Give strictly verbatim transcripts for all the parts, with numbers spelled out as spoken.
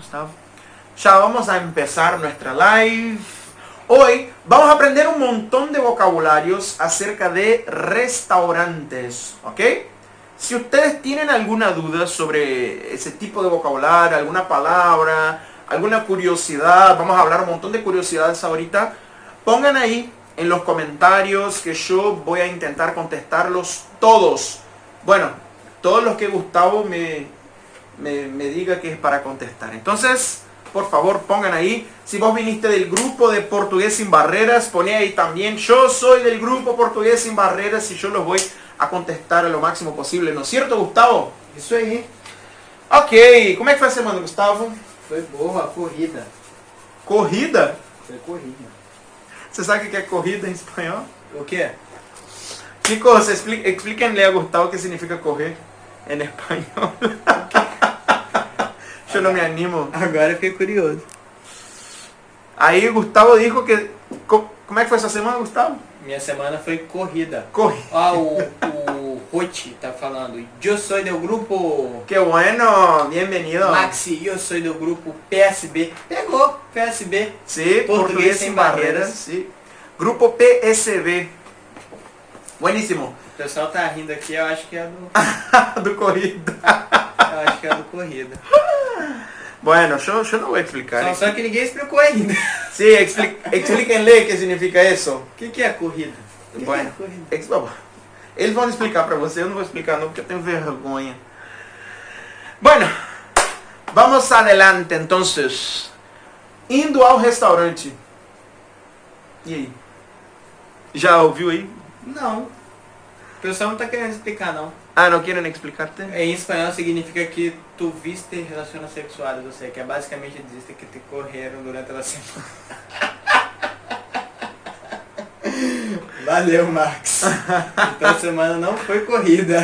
Gustavo. Ya vamos a empezar nuestra live. Hoy vamos a aprender un montón de vocabularios acerca de restaurantes, ¿ok? Si ustedes tienen alguna duda sobre ese tipo de vocabulario, alguna palabra, alguna curiosidad, vamos a hablar un montón de curiosidades ahorita, pongan ahí en los comentarios que yo voy a intentar contestarlos todos. Bueno, todos los que Gustavo me, me, me diga que es para contestar. Entonces, por favor, pongan ahí. Si vos viniste del grupo de Portugués Sin Barreras, poné ahí también. Yo soy del grupo Portugués Sin Barreras y yo los voy a contestar a lo máximo posible. ¿No es cierto, Gustavo? Isso aí. Ok. Como é que foi a semana, Gustavo? Foi boa, corrida. Corrida? Foi corrida. Você sabe o que é corrida em espanhol? O quê? Chicos, explique, explíquenle a Gustavo o que significa correr em espanhol. Eu não me animo. Agora eu fiquei curioso. Aí Gustavo dijo que... Como é que foi essa semana, Gustavo? Minha semana foi corrida. Corre. Ó, o, o Ruth tá falando. Eu sou do grupo... Que bueno, bienvenido. Maxi, eu sou do grupo P S B. Pegou, P S B. Sí, Portugués Sin Barreras. Sí. Grupo P S B. Buenísimo. O pessoal tá rindo aqui, eu acho que é do... do corrida. Eu acho que é do corrida. Bueno, yo, yo no voy a explicar. Só, só que ninguém explicou ainda. Sí, expli explíquenle qué significa eso. O que, que é corrida? Que Bueno, que é corrida? ex vamos. Eles vão explicar para você, eu não vou explicar não, porque eu tenho vergonha. Bueno, vamos adelante entonces. Indo ao restaurante. E aí? Já ouviu aí? Não. O pessoal não tá querendo explicar, não. Ah, não querem explicarte? Em espanhol significa que tu viste relações sexuais, ou seja, que é basicamente dizer que te correram durante a semana. Valeu, Max. Então a semana não foi corrida.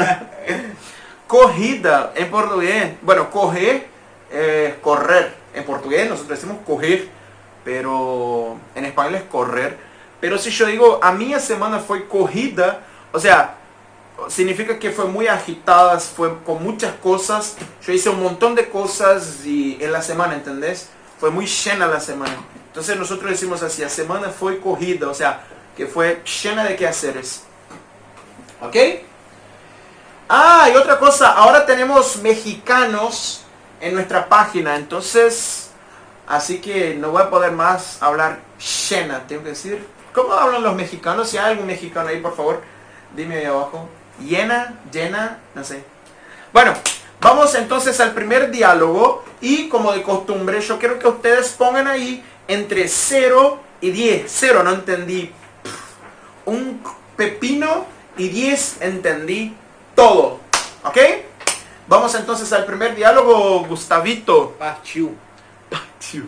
Corrida, en portugués, bueno, correr, eh, correr. En portugués nosotros decimos correr, pero en español es correr. Pero si yo digo, a minha semana fue corrida, o sea, significa que fue muy agitada, fue con muchas cosas. Yo hice un montón de cosas y en la semana, ¿entendés? Fue muy llena la semana. Entonces nosotros decimos así, la semana fue corrida, o sea, que fue llena de quehaceres. ¿Ok? Ah, y otra cosa, ahora tenemos mexicanos en nuestra página, entonces, así que no voy a poder más hablar llena, tengo que decir. ¿Cómo hablan los mexicanos? Si hay algún mexicano ahí, por favor, dime ahí abajo. Llena, llena, no sé. Bueno, vamos entonces al primer diálogo y como de costumbre yo quiero que ustedes pongan ahí entre cero y diez. cero no entendí un pepino y diez entendí todo. ¿Ok? Vamos entonces al primer diálogo, Gustavito. Partiu. Partiu.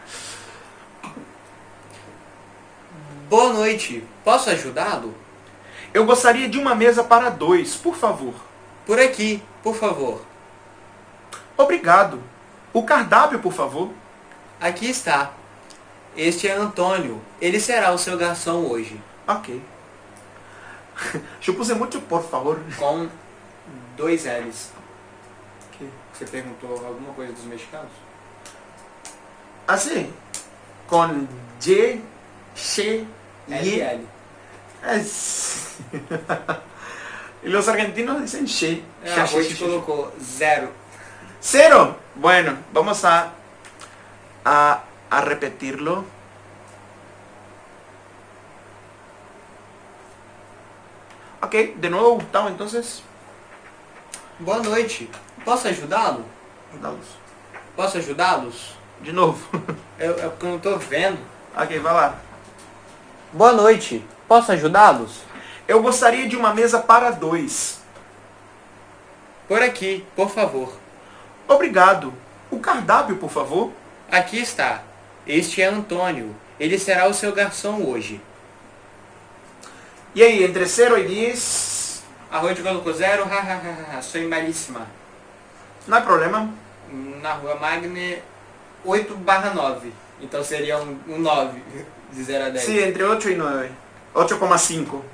Boa noite. Posso ajudá-lo? Eu gostaria de uma mesa para dois, por favor. Por aqui, por favor. Obrigado. O cardápio, por favor. Aqui está. Este é Antônio. Ele será o seu garçom hoje. Ok. Eu puse muito por favor. Com dois L's. Que? Você perguntou alguma coisa dos mexicanos? Assim, com G, X, L Y. L. Es... y los argentinos dicen Che. Ah, a Ruth colocou zero. Cero. Bueno, vamos a, a, a repetirlo. Ok, de nuevo Gustavo, entonces. Boa noite. Posso ajudá-lo? Ajudá-los. Posso ajudá-los? De novo. Eu, é porque eu não tô vendo. Ok, vai lá. Boa noite. Posso ajudá-los? Eu gostaria de uma mesa para dois. Por aqui, por favor. Obrigado. O cardápio, por favor. Aqui está. Este é Antônio. Ele será o seu garçom hoje. E aí, entre zero e dez? A Ruth colocou zero. Hahaha, sou malíssima. Não há problema. Na rua Magne, oito barra nove. Então seria um, um nove, de zero a dez. Sim, entre oito e nove. oito vírgula cinco.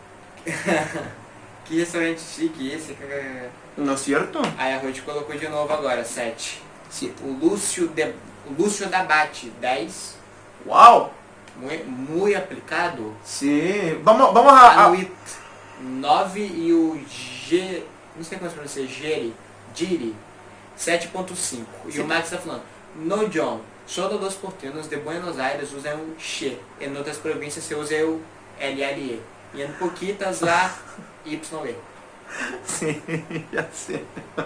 Que restaurante chique esse. ¿No es cierto? Aí a Ruth colocou de novo agora, sete. siete. O Lúcio, de, o Lúcio Dabate, dez. Wow. Muy, muy aplicado. Sí. Vamos, vamos a... a... Anuit, nove. E o G... Não sei como é que pronuncia. Giri. Giri. sete ponto cinco. E Sim. o Max está falando. No, John. Solo los porteños de Buenos Aires usam o X. Em outras províncias se usa o L L E. E em pouquitas lá, Y E. Sí, ya sé.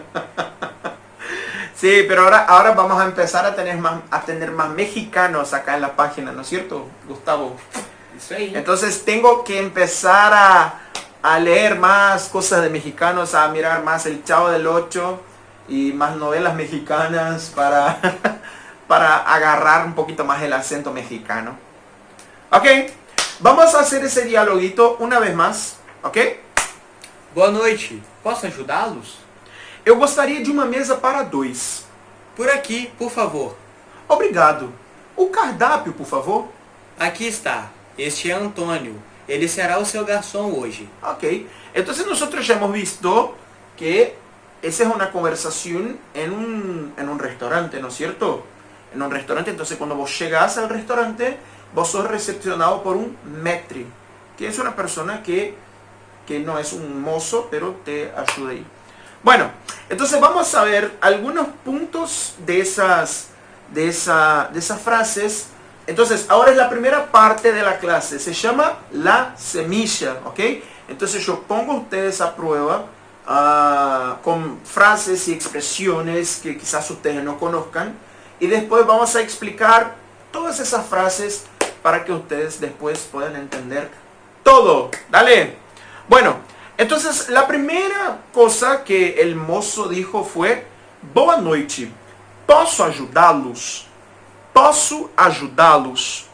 Sí, pero ahora, ahora vamos a empezar a tener, más, a tener más mexicanos acá en la página, ¿no es cierto, Gustavo? Isso aí. Entonces tengo que empezar a, a leer más cosas de mexicanos, a mirar más El Chavo del Ocho y más novelas mexicanas para, para agarrar un poquito más el acento mexicano. Ok, vamos a hacer ese dialoguito una vez más, ok? Boa noite. Posso ajudá-los? Eu gostaria de uma mesa para dois. Por aqui, por favor. Obrigado. O cardápio, por favor. Aqui está. Este é Antônio. Ele será o seu garçom hoje. Ok. Entonces nosotros ya hemos visto que esa es una conversación en un, en un restaurante, ¿no es cierto? En un restaurante, entonces cuando vos llegás al restaurante, vos sos recepcionado por un maître, que es una persona que, que no es un mozo, pero te ayuda ahí. Bueno, entonces vamos a ver algunos puntos de esas, de, esa, de esas frases. Entonces, ahora es la primera parte de la clase. Se llama la semilla, ¿ok? Entonces yo pongo a ustedes a prueba uh, con frases y expresiones que quizás ustedes no conozcan. Y después vamos a explicar todas esas frases para que ustedes después puedan entender todo. Dale. Bueno. Entonces, la primera cosa que el mozo dijo fue: boa noite, posso ajudá-los? Posso ajudá-los?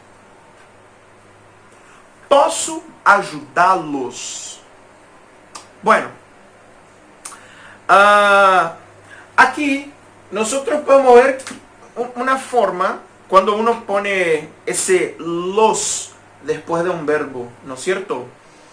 Posso ajudá-los? Bueno, uh, aquí nosotros podemos ver una forma cuando uno pone ese los después de un verbo, ¿no es cierto?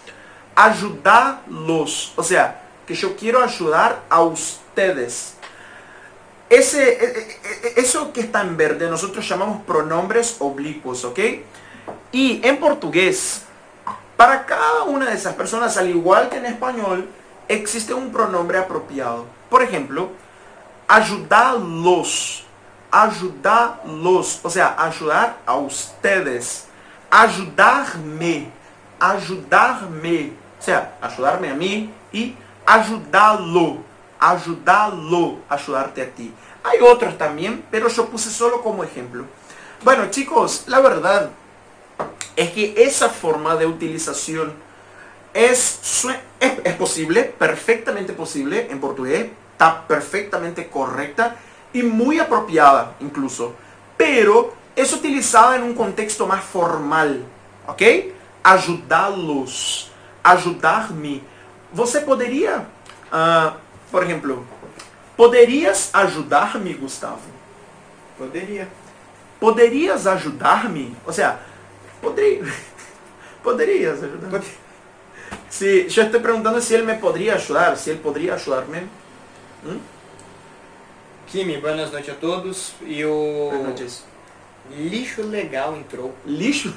Ayudarlos, o sea, que yo quiero ayudar a ustedes. Ese, eso que está en verde nosotros llamamos pronombres oblicuos, ¿ok? Y en portugués, para cada una de esas personas, al igual que en español, existe un pronombre apropiado. Por ejemplo, ayudarlos, ayudarlos, o sea, ayudar a ustedes, ayudarme, ayudarme. O sea, ayudarme a mí y ayudarlo, ayudarlo, ayudarte a ti. Hay otros también, pero yo puse solo como ejemplo. Bueno, chicos, la verdad es que esa forma de utilización es, es, es posible, perfectamente posible en portugués, está perfectamente correcta y muy apropiada incluso, pero es utilizada en un contexto más formal, ¿ok? Ajudá-los, ajudar-me. Você poderia, uh, por exemplo, poderias ajudar-me, Gustavo? Poderia. Poderias ajudar-me? O sea, poderia, poderias ajudar-me. Pod... Sí, yo estoy preguntando si él me podría ayudar, si él podría ayudarme. ¿Mm? Kimi, boas noites a todos. E o Boas noites. Lixo Legal entrou. Lixo?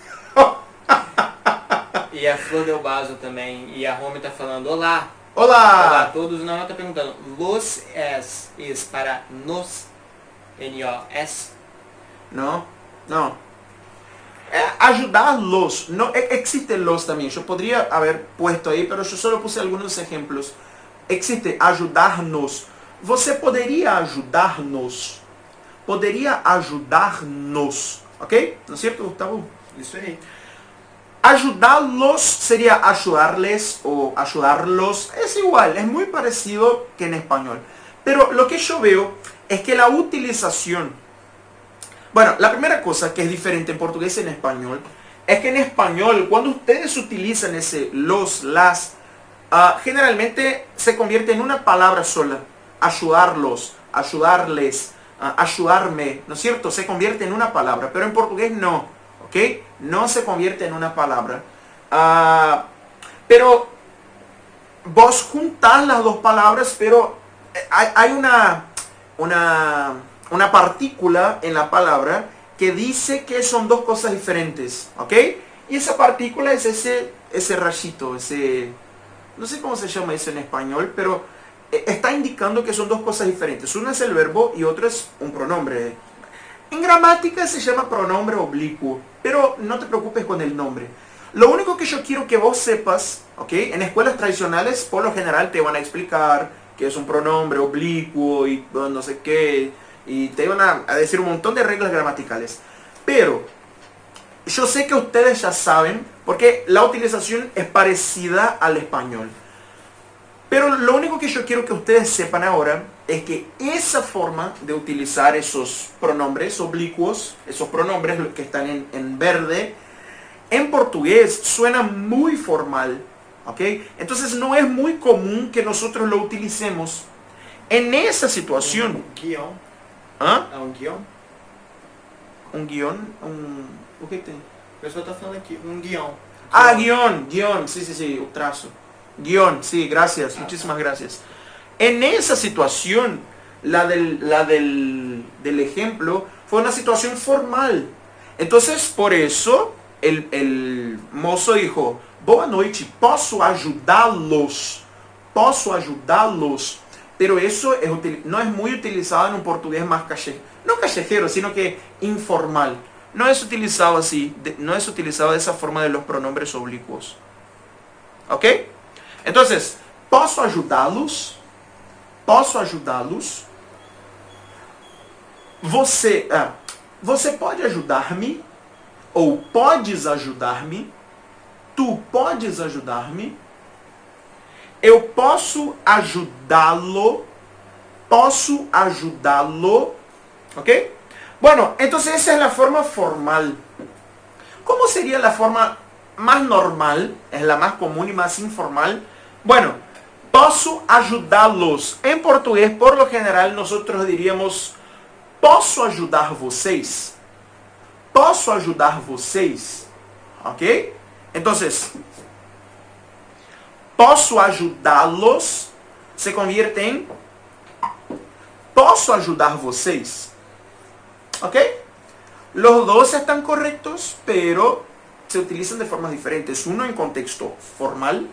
E a Flor Del Bazo também. E a Rome tá falando olá. Olá! Olá a todos. Não, ela tá perguntando. Los es, es para nos. N O S. No, no. Eh, ayudarlos. No, existe los también. Yo podría haber puesto ahí, pero yo solo puse algunos ejemplos. Existe ayudarnos. Você poderia ajudar-nos? Poderia ajudar-nos. ¿Ok? ¿No es cierto, Gustavo? Isso aí. Ayudarlos sería ayudarles o ayudarlos. Es igual, es muy parecido que en español. Pero lo que yo veo es que la utilización... Bueno, la primera cosa que es diferente en portugués y en español es que en español, cuando ustedes utilizan ese los, las, uh, generalmente se convierte en una palabra sola. Ayudarlos, ayudarles, uh, ayudarme, ¿no es cierto? Se convierte en una palabra, pero en portugués no. ¿Ok? No se convierte en una palabra. Uh, pero vos juntás las dos palabras, pero hay, hay una, una, una partícula en la palabra que dice que son dos cosas diferentes, ¿ok? Y esa partícula es ese, ese rayito, ese, no sé cómo se llama eso en español, pero está indicando que son dos cosas diferentes. Uno es el verbo y otro es un pronombre. En gramática se llama pronombre oblicuo, pero no te preocupes con el nombre. Lo único que yo quiero que vos sepas, ¿ok? En escuelas tradicionales por lo general te van a explicar que es un pronombre oblicuo y no sé qué, y te van a, a decir un montón de reglas gramaticales. Pero yo sé que ustedes ya saben, porque la utilización es parecida al español. Pero lo único que yo quiero que ustedes sepan ahora es que esa forma de utilizar esos pronombres oblicuos, esos pronombres que están en, en verde, en portugués suena muy formal, ¿ok? Entonces no es muy común que nosotros lo utilicemos en esa situación. Um guião. ¿Ah? É um guião? Un guión, un... ¿O qué tem? O pessoal está falando aqui, um guião. Ah, guión, guión, sí, sí, sí, un trazo. Guión, sí, gracias, muchísimas gracias. En esa situación, la del, la del, del ejemplo, fue una situación formal. Entonces, por eso, el, el mozo dijo, boa noite, posso ajudá-los, posso ajudá-los. Pero eso es, no es muy utilizado en un portugués más callejero, no callejero, sino que informal. No es utilizado así, de, no es utilizado de esa forma de los pronombres oblicuos. ¿Ok? Entonces, posso ajudá-los? Posso ajudá-los? Você, ah, você pode ajudar-me? Ou podes ajudar-me? Tu podes ajudar-me? Eu posso ajudá-lo? Posso ajudá-lo? ¿Ok? Bueno, entonces esa es la forma formal. ¿Cómo sería la forma más normal? Es la más común y más informal. Bueno, posso ajudá-los. En portugués, por lo general, nosotros diríamos posso ajudar vocês? Posso ajudar vocês? ¿Ok? Entonces, posso ajudá-los se convierte en posso ajudar vocês? ¿Ok? Los dos están correctos, pero se utilizan de formas diferentes. Uno en contexto formal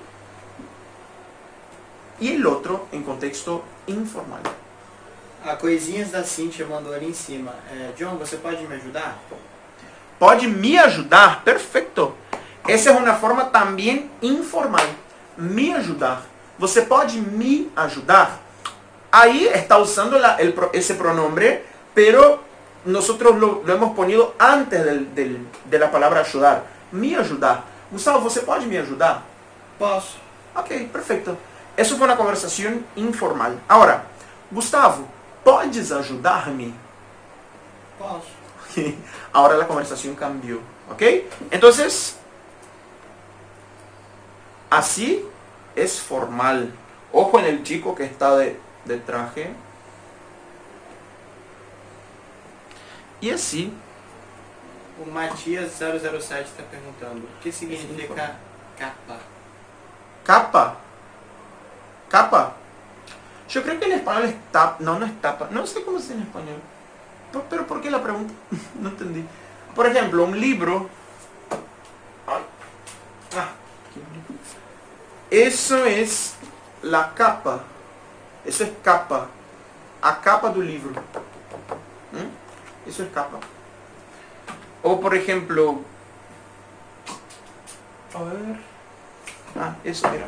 y el otro en contexto informal. A Coisinhas da Cíntia mandou ali em cima. É, John, você pode me ajudar? Pode me ajudar, perfecto. Essa é uma forma também informal. Me ajudar. Você pode me ajudar. Ahí está usando la, el, ese pronombre, pero nosotros lo, lo hemos ponido antes del, del, de la palabra ayudar. Me ajudar. Gustavo, ¿você pode me ajudar? Posso. Ok, perfecto. Eso fue una conversación informal. Ahora, Gustavo, ¿podes ayudarme? Posso. Ahora la conversación cambió. ¿Ok? Entonces, así es formal. Ojo en el chico que está de, de traje. E assim. O Matias zero zero sete está perguntando, o que significa capa? Capa. Capa. Yo creo que en español es tapa. No, no es tapa. No sé cómo es en español. Pero, pero ¿por qué la pregunta? No entendí. Por ejemplo, un libro. Ay. Ah. Eso es la capa. Eso es capa. A capa do livro. ¿Mm? Eso es capa. O por ejemplo, a ver, ah, eso era.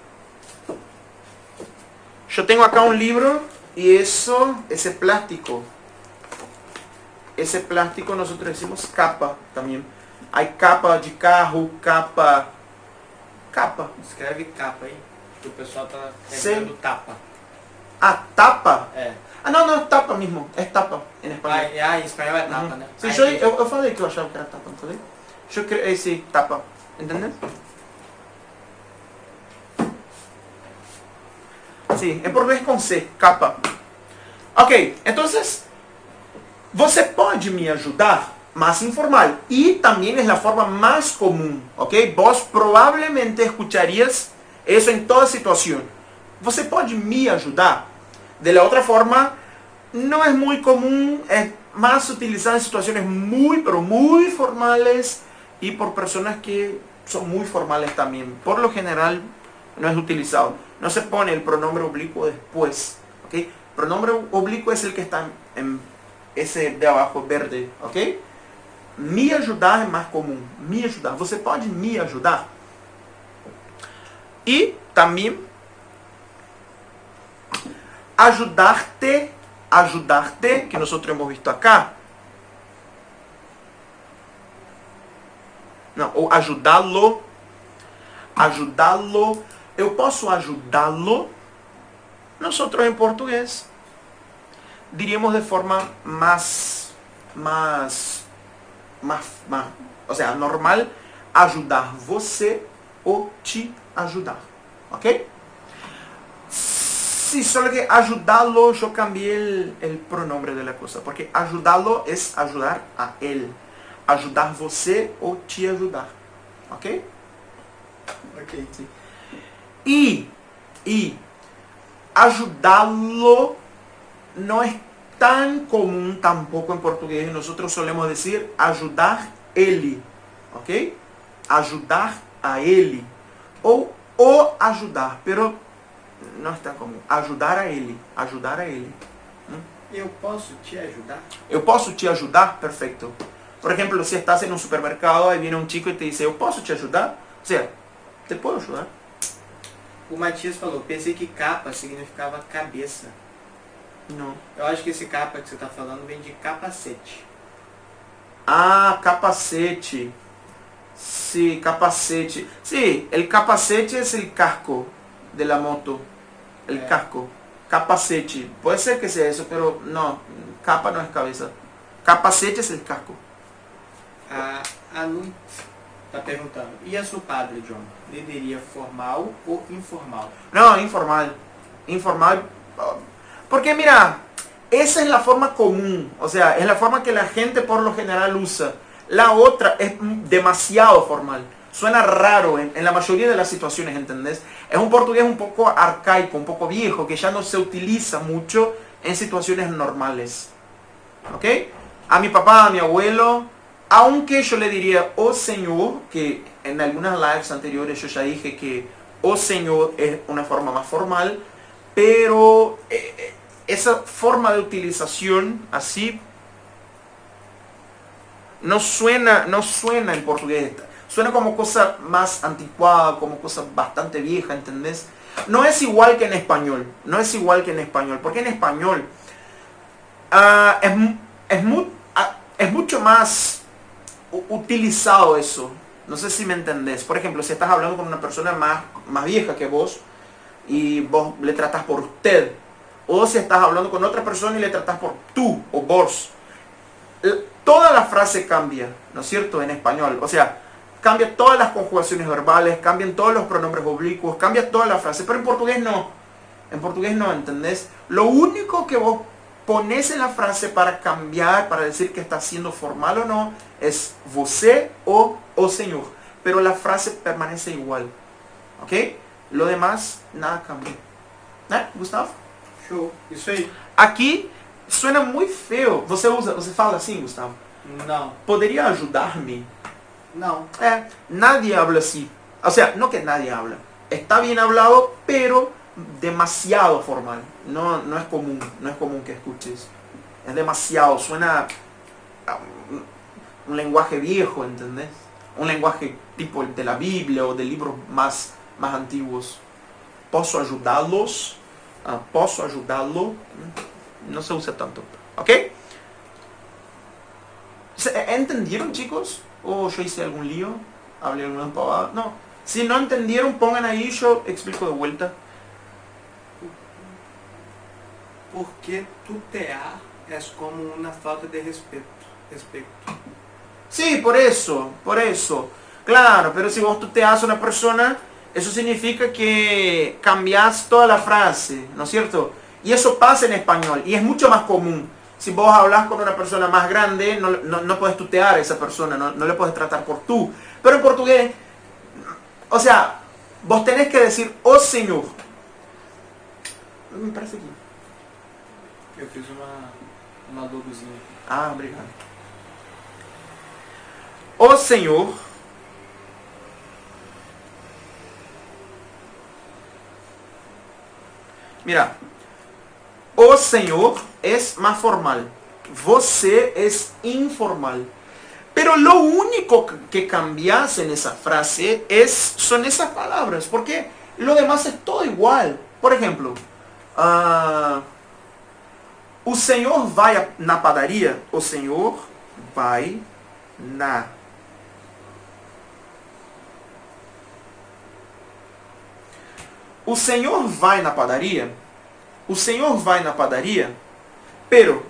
Yo tengo acá un libro y eso, ese plástico, ese plástico nosotros decimos capa también. Hay capa de carro, capa, capa. Escreve capa aí, que o pessoal tá Sim. escrevendo tapa. Ah, tapa. É. Ah, não, não, é tapa mesmo. É tapa em espanhol. Ah, ah, em espanhol é tapa, Uhum. né? Sim, Ah, eu, entendi. eu, eu falei que eu achava que era tapa, não falei? Eu cre... Esse tapa, entendeu? Sim, em português com C, capa. Ok, então, você pode me ajudar? Más informal. Y también es la forma más común, ¿ok? Vos probablemente escucharías eso en toda situación. ¿Você pode me ajudar? De la otra forma, no es muy común, es más utilizado en situaciones muy, pero muy formales y por personas que son muy formales también. Por lo general no es utilizado. No se pone el pronombre oblicuo después. ¿Ok? Pronombre oblicuo es el que está en esse de abajo verde. ¿Ok? Me ajudar é mais comum. Me ajudar. Você pode me ajudar? E também ajudar-te, ajudar-te, que nós hemos visto acá. Não, ou ajudá-lo, ajudá-lo. Eu posso ajudá-lo? Nós em português diríamos de forma mais, mais, mais, mais, ou seja, normal, ajudar você ou te ajudar, ok? Sí, solo que ayudarlo, yo cambié el, el pronombre de la cosa, porque ayudarlo es ayudar a él, ajudar você ou te ajudar, ok? Ok, sim. E, e ajudá-lo no es tan común tampoco en portugués. Nosotros solemos decir ajudar ele, ok? Ajudar a ele ou o ajudar, pero não é tão comum. Ajudar a ele, ajudar a ele. Eu posso te ajudar? Eu posso te ajudar? Perfecto. Por ejemplo, si estás en un supermercado, ahí viene un chico y te dice, eu posso te ajudar? O sea, te puedo ayudar. O Matias falou, pensei que capa significava cabeça. Não. Eu acho que esse capa que você está falando vem de capacete. Ah, capacete. Sí, capacete. Sí, el capacete es el casco de la moto. El É. casco. Capacete. Puede ser que sea eso, pero no. Capa no es cabeza. Capacete es el casco. A, a Lu está perguntando, e a seu padre, John? Líderia formal ou informal? No, informal. Informal. Porque mira, esa es la forma común. O sea, es la forma que la gente por lo general usa. La otra es demasiado formal. Suena raro en, en la mayoría de las situaciones, ¿entendés? Es un portugués un poco arcaico, un poco viejo, que ya no se utiliza mucho en situaciones normales. ¿Ok? A mi papá, a mi abuelo, aunque yo le diría, oh señor, que en algunas lives anteriores yo ya dije que oh señor es una forma más formal, pero eh, esa forma de utilización así no suena, no suena en portugués. Suena como cosa más anticuada, como cosa bastante vieja, ¿entendés? No es igual que en español, no es igual que en español, porque en español uh, es, es, mu, uh, es mucho más utilizado eso. No sé si me entendés. Por ejemplo, si estás hablando con una persona más, más vieja que vos y vos le tratás por usted, o si estás hablando con otra persona y le tratás por tú o vos, toda la frase cambia, ¿no es cierto? En español, o sea, cambia todas las conjugaciones verbales, cambian todos los pronombres oblicuos, cambia toda la frase, pero en portugués no. En portugués no, ¿entendés? Lo único que vos pones en la frase para cambiar, para decir que está siendo formal o no, es você o o señor. Pero la frase permanece igual. ¿Ok? Lo demás, nada cambia. ¿Eh, Gustavo? Show. Isso aí. Aqui suena muy feo. Você usa, você fala assim, Gustavo? Não. ¿Podría ayudarme? Não. Eh, nadie habla así. O sea, no que nadie habla. Está bien hablado, pero demasiado formal. No, no es común, no es común que escuches. Es demasiado, suena a un, un lenguaje viejo, ¿entendés? Un lenguaje tipo de la Biblia o de libros más, más antiguos. ¿Posso ayudarlos? Ah, ¿Posso ayudarlo? No se usa tanto. ¿Ok? ¿Entendieron, chicos? ¿O yo hice algún lío? ¿Hablé alguna pavada? No. Si no entendieron, pongan ahí, yo explico de vuelta. Porque tutear é como uma falta de respeito. respeito. Sí, por eso, por eso. Claro, pero si vos tuteas a una persona, eso significa que cambias toda la frase, ¿no es cierto? Y eso pasa en español, y es mucho más común. Si vos hablas con una persona más grande, no, no, no puedes tutear a esa persona, no, no le puedes tratar por tú. Pero en portugués, o sea, vos tenés que decir, oh señor. Me parece que... Eu fiz uma, uma logozinha. Ah, obrigado. O Senhor Mira, o Senhor es más formal. Você es informal. Pero lo único que cambias en esa frase es, son esas palabras, porque lo demás es todo igual. Por ejemplo, uh, o Senhor vai na padaria. O Senhor vai na. O Senhor vai na padaria. O Senhor vai na padaria. Pero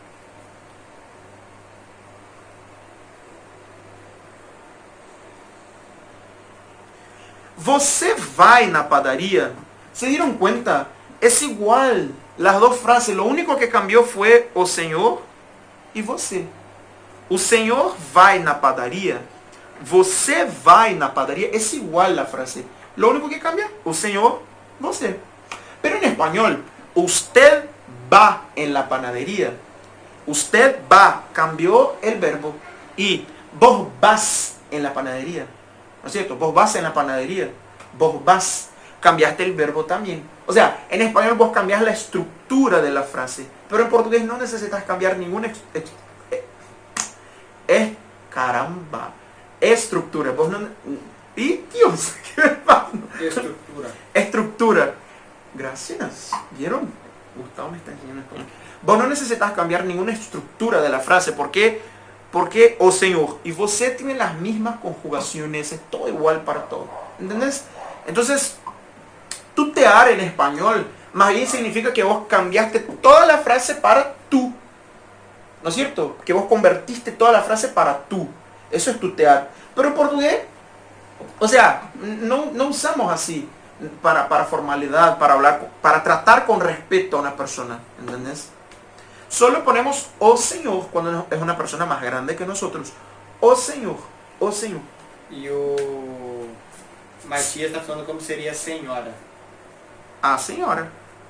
você vai na padaria. ¿Se dieron cuenta? Es igual las dos frases. Lo único que cambió fue o Senhor e você. O Senhor vai na padaria. Você vai na padaria. Es igual la frase. Lo único que cambia, o Senhor, você. Pero en español, usted va en la panadería. Usted va, cambió el verbo. Y vos vas en la panadería. ¿No es cierto? Vos vas en la panadería. Vos vas. Cambiaste el verbo también. O sea, en español vos cambias la estructura de la frase. Pero en portugués no necesitas cambiar ninguna... Ex, ex, eh, caramba. Estructura. Vos no... Y Dios, ¿qué me pasa? Estructura. Estructura. Gracias. ¿Vieron? Gustavo me está enseñando esto. Vos no necesitas cambiar ninguna estructura de la frase. ¿Por qué? Porque o Señor y você tienen las mismas conjugaciones. Es todo igual para todo. ¿Entendés? Entonces, tutear en español más bien significa que vos cambiaste toda la frase para tú. ¿No es cierto? Que vos convertiste toda la frase para tú. Eso es tutear. Pero en portugués, o sea, no, no usamos así para, para formalidad, para hablar, para tratar con respeto a una persona, ¿entendés? Solo ponemos o Señor cuando es una persona más grande que nosotros. O Señor, o Señor. E o Matias está falando como seria senhora. A senhora.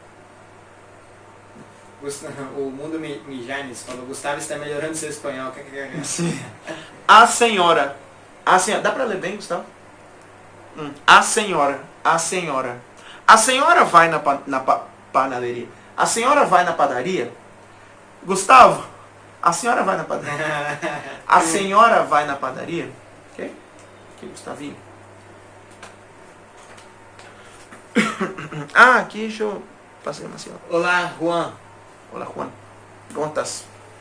O Mundo Mijanes falou, Gustavo está melhorando seu espanhol. Sim. A senhora. A senhora. Dá para ler bem, Gustavo? Hum. A senhora. A senhora. A senhora vai na, na panaderia. A senhora vai na padaria. Gustavo, a senhora vai na padaria. A senhora vai na padaria. Ok? Aqui, Gustavinho. Ah, aqui deixa eu fazer uma senhora. Olá, Juan. Olá, Juan. ¿Cómo estás?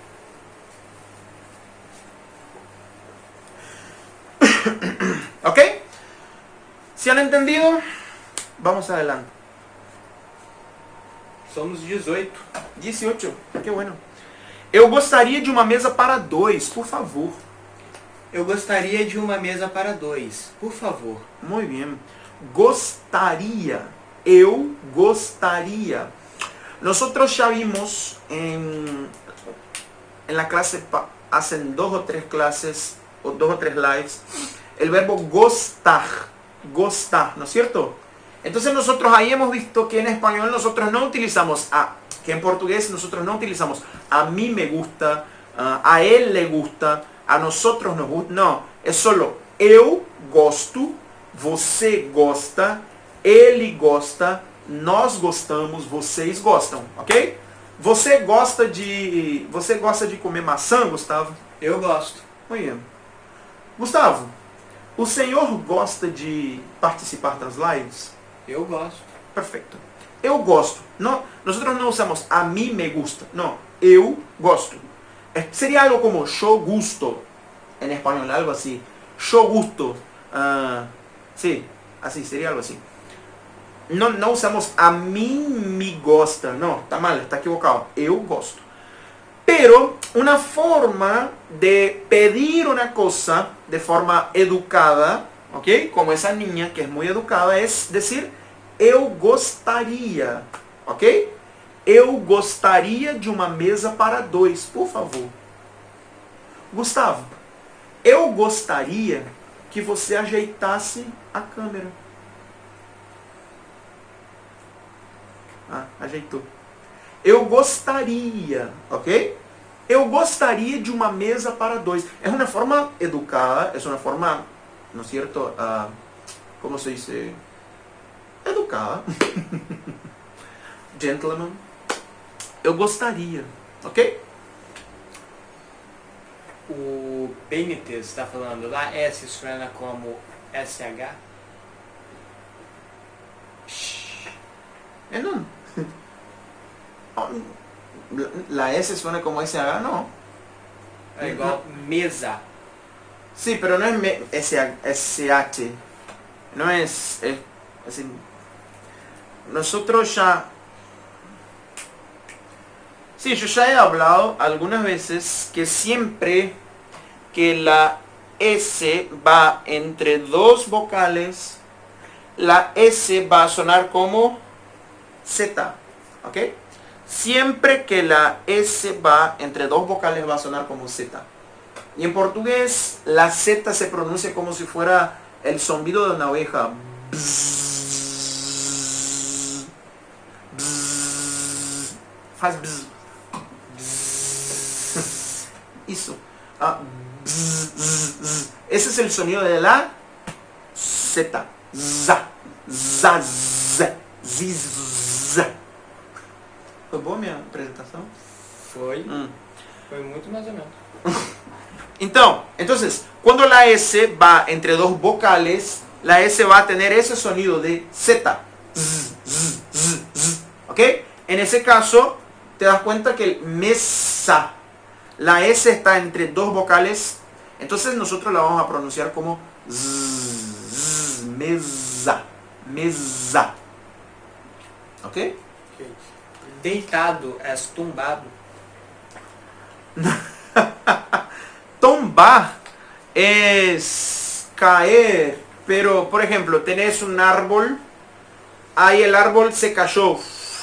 ¿Ok? ¿Se han entendido? Vamos adelante. Somos dezoito. dezoito. Que bueno. Eu gostaria de uma mesa para dois, por favor. Eu gostaria de uma mesa para dois, por favor. Muito bem. Gostaria. Eu gostaria. Nosotros ya vimos en, en la clase, hace dos o tres clases, o dos o tres lives, el verbo gostar, gostar, ¿no es cierto? Entonces nosotros ahí hemos visto que en español nosotros no utilizamos a, que en portugués nosotros no utilizamos a mí me gusta, uh, a él le gusta, a nosotros nos gusta, no, es solo eu gosto, você gosta, ele gosta, nós gostamos, vocês gostam, ok? Você gosta de, você gosta de comer maçã, Gustavo? Eu gosto. Muito bem. Gustavo, o senhor gosta de participar das lives? Eu gosto. Perfeito. Eu gosto. No, nosotros no usamos a mí me gusta. No, eu gosto. Eh, sería algo como yo gusto. En español, algo así. Yo gusto. Uh, sí, así, sería algo así. No, no usamos a mí me gosta. No, está mal, está equivocado. Eu gosto. Pero una forma de pedir una cosa de forma educada, ¿ok? Como esa niña que es muy educada, es decir, eu gostaria, ¿ok? Eu gostaria de uma mesa para dois, por favor. Gustavo, eu gostaria que você ajeitasse a câmera. Ah, ajeitou. Eu gostaria, ok? Eu gostaria de uma mesa para dois. É uma forma educada, é uma forma, ¿no es cierto? Uh, como se dice? Educada. Gentleman. Eu gostaria, ok? O Benítez está falando, lá S suena como S H? É não. La S suena como S H, no. É igual mesa. Sí, pero no es me- S H. No es, es así. Nosotros ya... Sí, yo ya he hablado algunas veces que siempre que la S va entre dos vocales, la S va a sonar como Z, ¿ok? Siempre que la S va entre dos vocales va a sonar como Z. Y en portugués la Z se pronuncia como si fuera el zumbido de una oveja. Bzz, bzz, faz bzz. Eso. Ah, bzz, bzz, bzz. Ese es el sonido de la Z. Za, za, za, ziz, za. Foi boa minha apresentação? Foi. Hum. Foi muito mais ou menos. Então, entonces, cuando la S va entre dos vocales, la S va a tener ese sonido de Z. Z, z, z, z, ¿ok? En ese caso, te das cuenta que el mesa, la S está entre dos vocales, entonces nosotros la vamos a pronunciar como z, z, mesa, mesa. ¿Ok? Okay. Deitado é tumbado. Tombar es caer, pero por ejemplo, tenés un árbol, ahí el árbol se cayó.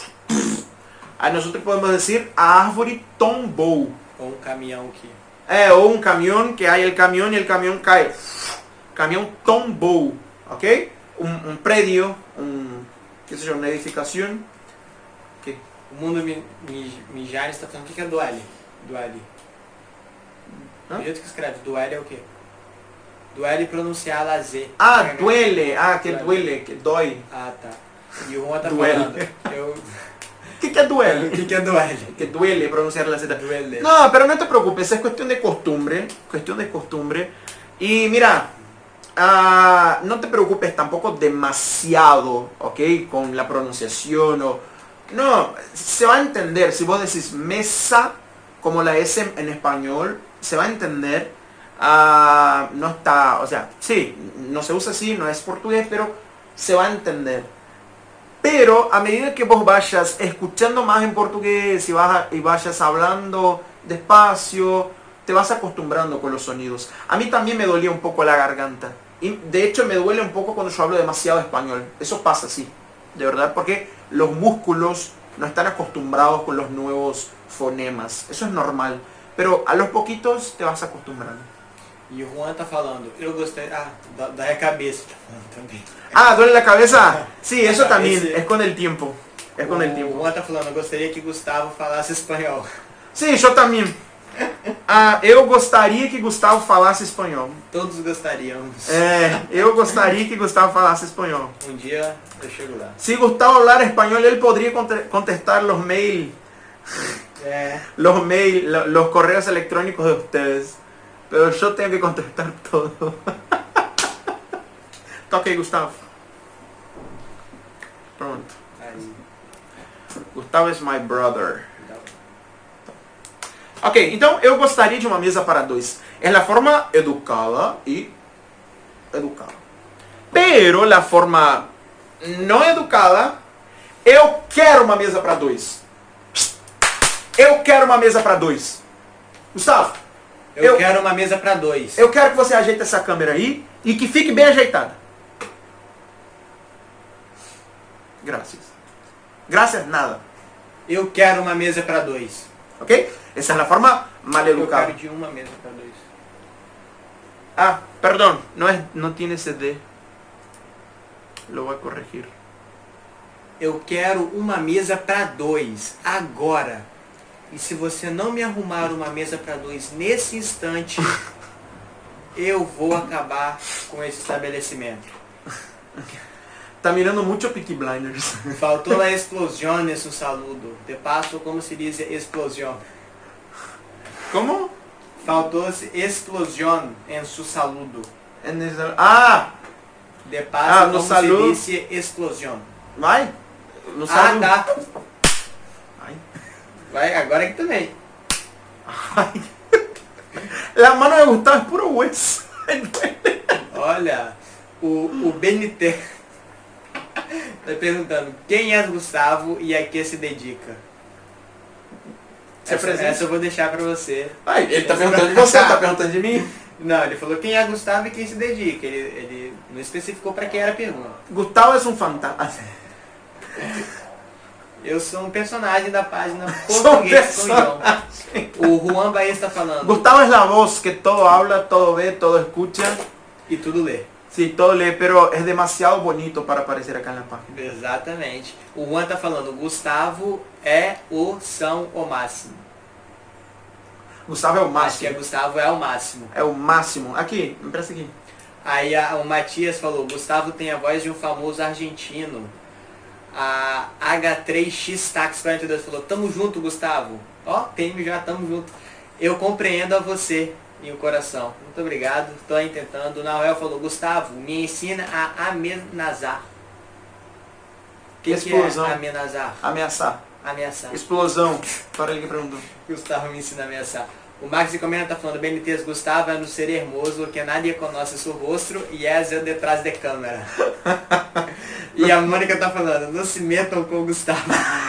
Aí nosotros podemos decir, a árvore tombou. Ou um caminhão que... É, ou um caminhão, que hay el camión y el camión cae. Camión tombou, ¿ok? Un, un predio, un, qué sé yo, una edificación. ¿Qué? O mundo mi, mi, mijar está falando, o que, que é duele? Duele. Hã? O jeito que escreve duele é o quê? Duele pronunciar a Z. Ah, duele, ah, que duele, que dói. Ah, tá. E o Juan tá Duele. falando. Eu... ¿Qué que duele? O que, que é duele? Que duele pronunciar la Z. Duele. No, pero no te preocupes, es cuestión de costumbre, cuestión de costumbre. Y mira, uh, no te preocupes tampoco demasiado, ¿ok? Con la pronunciación o... No, se va a entender, si vos decís mesa, como la S en español, se va a entender. Uh, no está, o sea, sí, no se usa así, no es portugués, pero se va a entender. Pero a medida que vos vayas escuchando más en portugués y, vas a, y vayas hablando despacio, te vas acostumbrando con los sonidos. A mí también me dolía un poco la garganta. Y de hecho me duele un poco cuando yo hablo demasiado español. Eso pasa, sí, de verdad, porque los músculos no están acostumbrados con los nuevos fonemas. Eso es normal. Pero a los poquitos te vas acostumbrando. E o Juan tá falando, eu gostei... Ah, da, da cabeça tá falando também. Ah, ¿duele la cabeza? Sí, eso también, Ese- es con el tiempo. Es con el O tiempo. Juan tá falando, eu gostaria que Gustavo falasse espanhol. Sí, yo también. Ah, eu gostaria que Gustavo falasse espanhol. Todos gostaríamos. É, eu gostaria que Gustavo falasse espanhol. Um dia eu chego lá. Si Gustavo hablara español, él podría conte- contestar los mail, É, los mail, lo- los correos electrónicos de ustedes. Pero yo tengo que contestar todo. Toque, Gustavo. Pronto. aí, Gustavo is my brother. dá- Ok, então eu gostaria de uma mesa para dois. É a forma educada e educada. Pero a forma não educada, eu quero uma mesa para dois. Eu quero uma mesa para dois. Gustavo, eu, Eu- quero uma mesa pra dois. eu quero que você ajeite essa câmera aí e que fique bem ajeitada. Graças. Graças nada. Eu quero uma mesa pra dois. Ok? Essa é a forma mal Eu educada. quero de uma mesa pra dois. Ah, perdón, no, es, no tiene C D. Lo voy a corregir. eu quero uma mesa para dois, agora. E se você não me arrumar uma mesa para dois nesse instante, eu vou acabar com esse estabelecimento. Tá mirando muito Peaky Blinders. Faltou la explosión en su saludo. De paso, como se diz explosión? Como? Faltou explosión en su saludo. En esa- Ah! De paso, Ah, no como saludo. se dice explosión? Vai? No Ah, saludo. tá. Ai. Vai, agora aqui também. Ai. La mano de Gustavo es puro hueso. Olha, o, o B N T tá perguntando quem é Gustavo e a que se dedica. Se Essa, apresenta. essa eu vou deixar pra você. Ai, ele tá perguntando de você, tá perguntando de mim. Não, ele falou quem é Gustavo e quem se dedica. Ele, ele não especificou pra quem era a pergunta. Gustavo es un fantasma. Eu sou um personagem da página Sou Português com João. personagem. O Juan Baez está falando. Gustavo es la voz que todo habla, todo ve, todo escucha. E tudo lê. Sí, todo lee, pero es demasiado bonito para aparecer acá en la página. Exatamente. O Juan tá falando, Gustavo é o são o máximo. Gustavo é o Acho que é máximo. Gustavo é o máximo. É o máximo. Aqui, me presta aqui. Aí a, o Matias falou, Gustavo tem a voz de um famoso argentino. A H três X Tax quarenta e dois falou, tamo junto, Gustavo. Ó, tem já, tamo junto. Eu compreendo a você e o coração. Muito obrigado, tô aí tentando. O Nael falou, Gustavo, me ensina a amenazar. O que, que Explosão. é amenazar? Ameaçar. Ameaçar. Explosão. Para ele que perguntou. Gustavo me ensina a ameaçar. O Max comenta tá falando, B N T's Gustavo é no ser hermoso, que nadie conoce su rostro e é eu detrás de câmera. E a Mônica tá falando, não se metam com o Gustavo.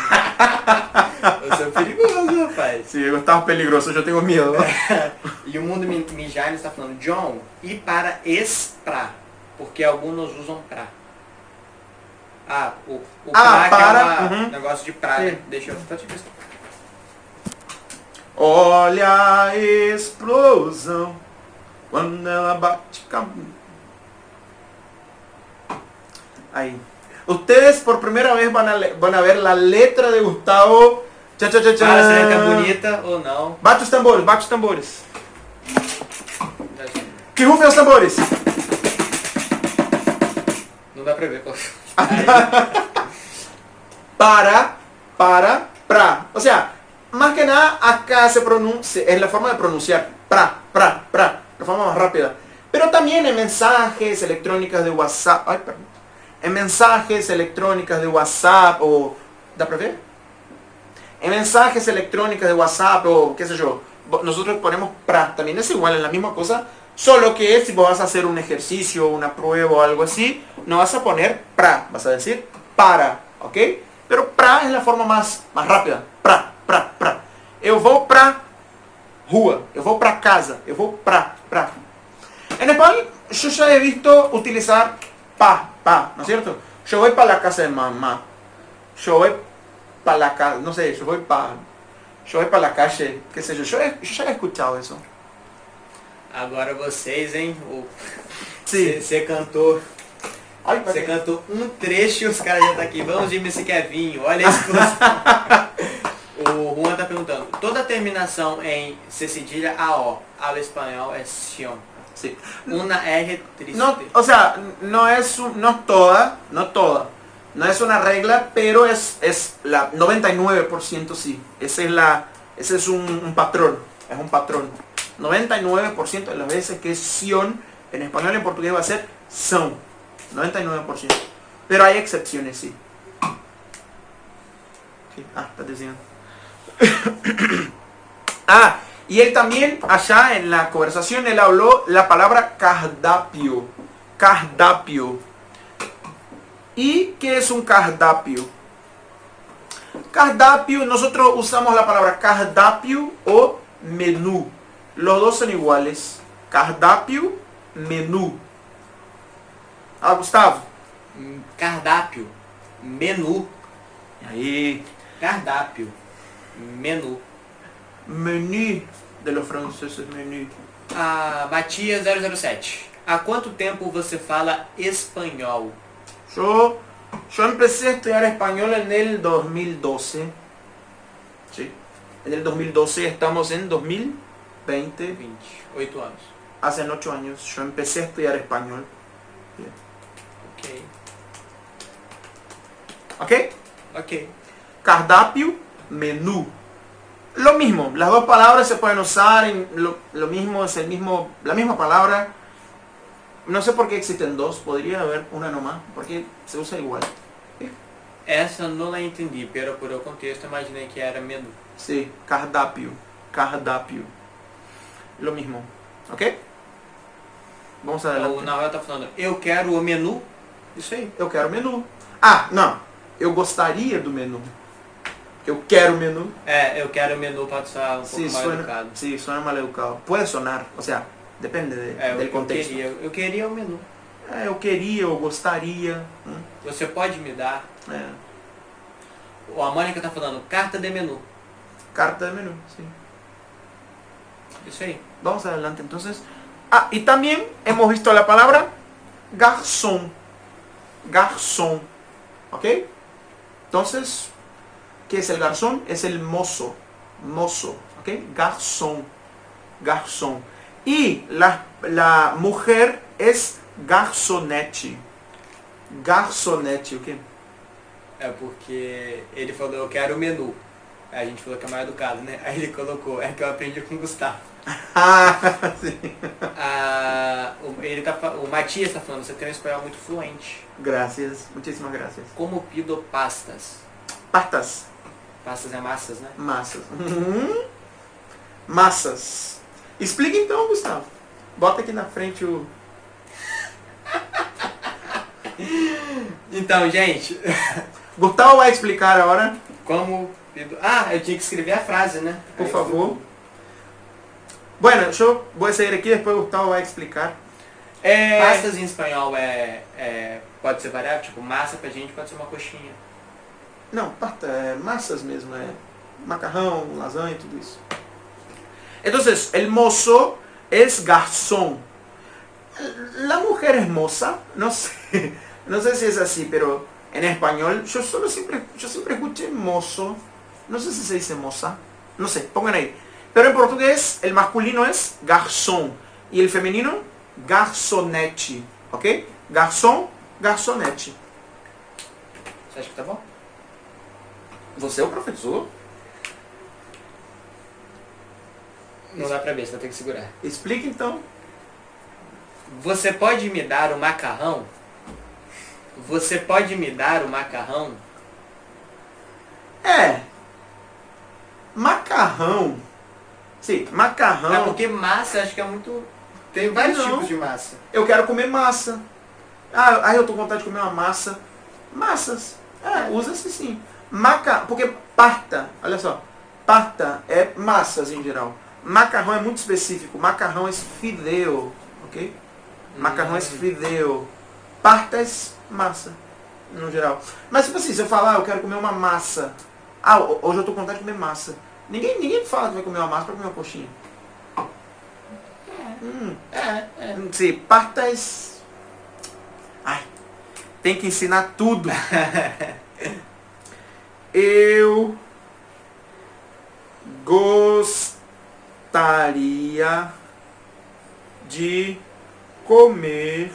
Eu sou perigoso, rapaz. Sí, Gustavo peligroso, eu tenho medo. E o Mundo Mi- Mijanes está falando, John, e para espra, porque alguns usam pra. Ah, o, o Ah, pra para, que é um uhum. negócio de pra, Sim. né? Deixa eu só te ver. Olha a explosão quando ela bate com... Aí. Ustedes por primera vez van a, le- van a ver la letra de Gustavo. Cha, cha, cha, cha. Fala se ela é bonita ou não. Bate os tambores, bate os tambores. Já sei. Que rufem os tambores. Não dá pra ver. Pô. Para, para, pra. O sea, más que nada acá se pronuncia, es la forma de pronunciar. Pra, pra, pra. La forma más rápida. Pero también en mensajes electrónicas de WhatsApp. Ay, perdón. En mensajes electrónicas de WhatsApp o... ¿Da para ver? En mensajes electrónicas de WhatsApp o qué sé yo. Nosotros ponemos pra. También es igual, es la misma cosa. Solo que si vos vas a hacer un ejercicio, una prueba o algo así, no vas a poner pra. Vas a decir para. ¿Ok? Pero pra es la forma más, más rápida. Pra, pra, pra. Eu vou pra rua. Eu vou pra casa. Eu vou pra, pra. En español yo ya he visto utilizar pa, pa, ¿no es cierto? Yo voy para la casa de mamá. Yo voy para la casa, no sé, yo voy para yo voy para la calle, qué sé yo. Yo, he- yo ya he escuchado eso. Agora vocês, hein? Sí. Você cantou. Ay, Você para- cantou um trecho e os caras já tá aqui. Vamos de esse Kevinho. Olha a explosão. O Juan tá perguntando. Toda terminação em C cedilha A O ao espanhol é sion. sí. Una R triste. No, o sea, no es, un- no es toda, no toda. No es una regla, pero es, es la noventa y nueve por ciento sí. Ese es, la, ese es un, un patrón. Es un patrón. noventa y nueve por ciento de las veces que es sion, en español y en portugués va a ser son. noventa y nueve por ciento. Pero hay excepciones, sí. Sí, ah, está diciendo. Ah, y él también, allá en la conversación, él habló la palabra cardápio. Cardápio. ¿Y qué es un cardápio? Cardápio, nosotros usamos la palabra cardápio o menú. Los dos son iguales. Cardápio, menú. Ah, Gustavo. Cardápio. Menu. Ahí. Cardápio. Menu. Menú de los franceses, menú. A Matias zero zero sete. Há quanto tempo você fala espanhol? Yo Yo empecé a estudiar español en el dos mil doce. Sí. En el dos mil doce, estamos en dos mil veinte. veintiocho anos. Hace ocho años yo empecé a estudiar español. Ok. ¿Ok? Ok. Cardápio, menú. Lo mismo, las dos palabras se pueden usar en lo, lo mismo, es el mismo, la misma palabra. No sé por qué existen dos, podría haber una nomás, porque se usa igual. Essa não la entendi, pero por o contexto imaginei que era menu. Sí, cardápio, cardápio. Lo mismo, ¿ok? Vamos adelante. O Nahuel tá falando, eu quero o menu. Isso aí, eu quero menu. Ah, não, eu gostaria do menu. Eu quero menu. É, eu quero o menu pode soar um Sí, pouco mais suena, educado. sí, suena mal educado. Puede sonar, o sea, depende de, É, del eu contexto. queria, eu queria o menu. É, eu queria, eu gostaria. Hum, Você pode me dar? é. O a Mônica tá falando, carta de menu. Carta de menú, sí. Isso aí. Vamos adelante entonces. Ah, y también hemos visto la palabra garzón. Garzón. ¿Ok? Entonces, ¿qué es el garzón? Es el mozo. Mozo. ¿Ok? Garzón. Garzón. Y la, la mujer es garzonete. Garzonete, ¿ok? É porque ele falou, eu quero o menu. Aí a gente falou que é mais educado, né? Aí ele colocou, é que eu aprendi com o Gustavo. Ah, sim. Ah, o, ele tá, fa- o Matias tá falando, você tem um espanhol muito fluente. Gracias, muchísimas gracias. Como pido pastas? Pastas. Pastas é massas, né? Massas. Uhum. Massas. Explica então, Gustavo. Bota aqui na frente o... Então, gente, Gustavo vai explicar agora, como pido... Ah, eu tinha que escrever a frase, né? por Aí eu favor. fui- Bueno, yo voy a seguir aqui, depois o Gustavo vai explicar. É... Pastas em espanhol é, é... Pode ser variável, tipo, massa pra gente pode ser uma coxinha. Não, pasta, é massas mesmo, é macarrão, lasanha, tudo isso. Entonces, el mozo es garzón. La mujer es moza, no sé, no sé si es así, pero en español yo solo siempre, yo siempre escuché mozo, no sé si se dice moza, no sé, pongan ahí. Pero en portugués el masculino es garzón y el femenino garzonete, ¿ok? Garzón, garzonete. Você acha que tá bom? Você é o professor? Não dá pra ver, você vai ter que segurar. Explica então. Você pode me dar o macarrão? Você pode me dar o macarrão? É. Macarrão. Sim, macarrão. É porque massa acho que é muito... Tem vários Não. tipos de massa. Eu quero comer massa. Ah, aí eu tô com vontade de comer uma massa. Massas. É, usa-se sim. Maca... Porque parta, olha só. Parta é massas em geral. Macarrão é muito específico. Macarrão é fideo, ok? Macarrão é fideo. Parta é massa, no geral. Mas tipo assim, se eu falar, ah, eu quero comer uma massa. Ah, hoje eu tô com vontade de comer massa. Ninguém, ninguém fala que vai comer uma massa pra comer uma coxinha. É, Hum. é, é. Sim, partas. Ai, tem que ensinar tudo. Eu gostaria de comer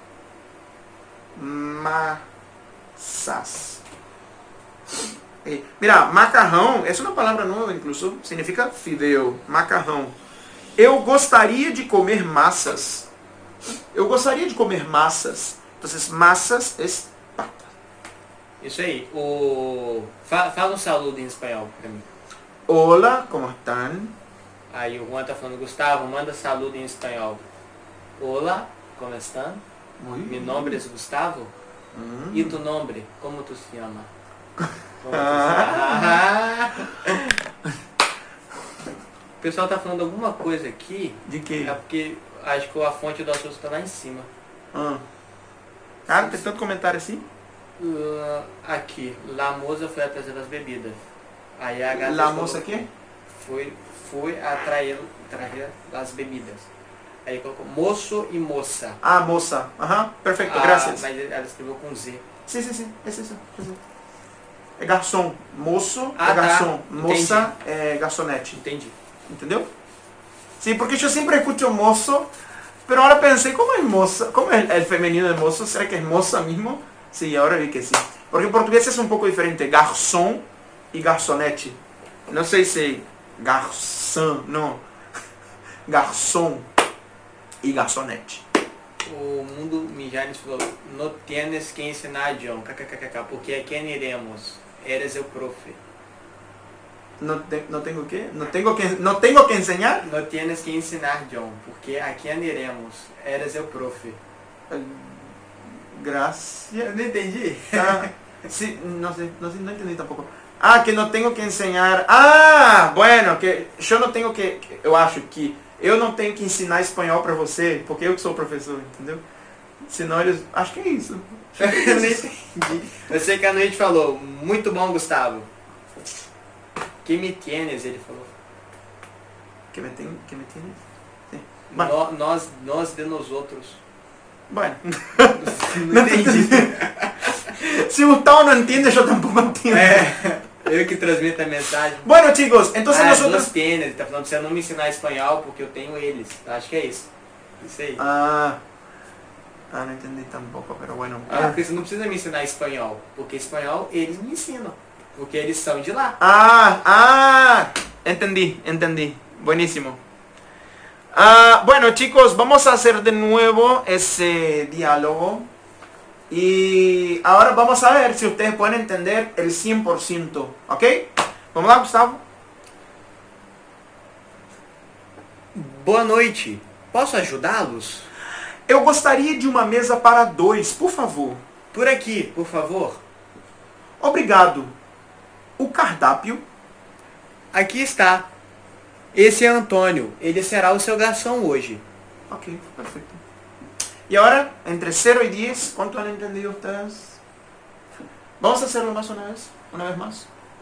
massas. Eh, Mira, macarrão é uma palavra nova, incluso significa fideo, macarrão. Eu gostaria de comer massas. Eu gostaria de comer massas. Então, massas é pata. Isso aí. O... Fa- Fala um saludo em espanhol pra mim. Hola, como están? Aí o Juan tá falando, Gustavo, manda saludo em espanhol. Olá, como estão? Muy Mi bien. nombre es Gustavo. Mm. E tu nombre? Como tu se llama? Como tu se... O pessoal tá falando alguma coisa aqui. De quê? É porque acho que a fonte do assunto tá lá em cima. Ah. Cara, tem tanto comentário assim? Uh, aqui, La Moça foi atrás das bebidas. Aí a gata La falou- moça aqui? Foi, foi atrair, atrair as bebidas. Aí colocou moço e moça. Ah, moça. Aham, perfeito, Ah, graças. Mas ela escreveu com Z. Sim, sim, sim. É isso. É, isso. É garçom. Moço ah, é garçom. Tá. Moça é garçonete. Entendi. Entendeu? Sim, porque eu sempre escuto moço, pero ahora pensei, como é moça? Como é o feminino de moço? Será que é moça mesmo? Sim, agora vi que sim. Porque em português é um pouco diferente. Garçom e garçonete. Não sei se garçom, não. Garçom e garçonete. O Mundo Mijanes falou, no tienes que ensinar, John, kkkk, porque a quem iremos? Eres el profe. Não, te, não tenho o quê? Não tenho que, não tenho que ensinar? No tienes que ensinar, John, porque a quem iremos? Eres el profe. Graças. Eu não entendi. Ah, sí, não sei, não sei, não entendi tampoco. Ah, que não tenho que ensinar. Ah, bueno, que eu não tenho que, eu acho que eu não tenho que ensinar espanhol para você, porque eu que sou o professor, entendeu? Senão eles, acho que é isso. Eu não entendi. Eu sei que a noite falou, muito bom, Gustavo. Que me tienes, ele falou. Que me tem, que me tem. Sim. No, nós, nós de nós outros. Bueno. Não entendi. Se o tal não entende, eu tampouco entendo. É, eu que transmito a mensagem. Bueno, chicos, entonces ah, nosotros... Dos tênis, ele tá falando pra você não me ensinar espanhol porque eu tenho eles. Acho que é isso. Isso aí. Ah, ah não entendi tampoco, pero bueno. Ah, porque você não precisa me ensinar espanhol, porque espanhol eles me ensinam, porque eles são de lá. Ah, ah, entendí, entendí. Buenísimo. Ah, bueno, chicos, vamos a hacer de nuevo ese diálogo. Y ahora vamos a ver si ustedes pueden entender el cien por ciento. ¿Ok? Vamos lá, Gustavo. Boa noite. Posso ajudá-los? Eu gostaria de uma mesa para dois, por favor. Por aqui, por favor. Obrigado. O cardápio? Aqui está. Esse é Antônio. Ele será o seu garçom hoje. Ok, perfecto. Y ahora, entre cero y diez, ¿cuánto han entendido ustedes? Vamos a hacerlo más una vez, una vez más.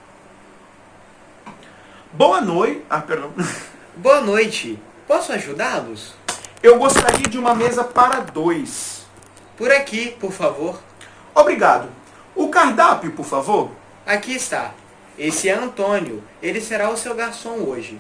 Boa noite. Ah, perdão. Boa noite. Posso ajudá-los? Eu gostaria de uma mesa para dois. Por aqui, por favor. Obrigado. O cardápio, por favor? Aqui está. Esse é Antônio. Ele será o seu garçom hoje.